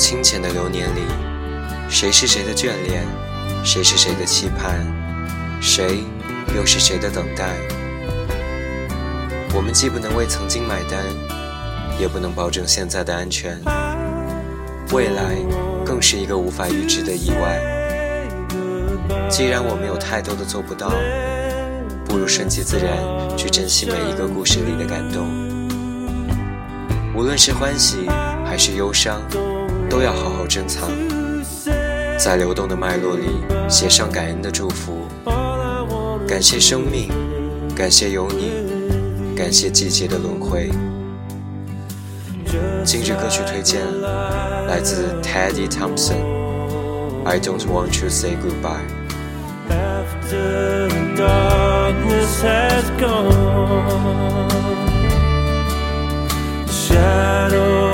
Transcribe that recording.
清浅的流年里，谁是谁的眷恋，谁是谁的期盼，谁又是谁的等待。我们既不能为曾经买单，也不能保证现在的安全，未来更是一个无法预知的意外。既然我们有太多的做不到，不如顺其自然去珍惜每一个故事里的感动。无论是欢喜还是忧伤，都要好好珍藏，在流动的脉络里写上感恩的祝福。感谢生命，感谢有你，感谢季节的轮回。今日歌曲推荐来自 Teddy Thompson， I don't want to say goodbye。 After the darkness has gone, the shadow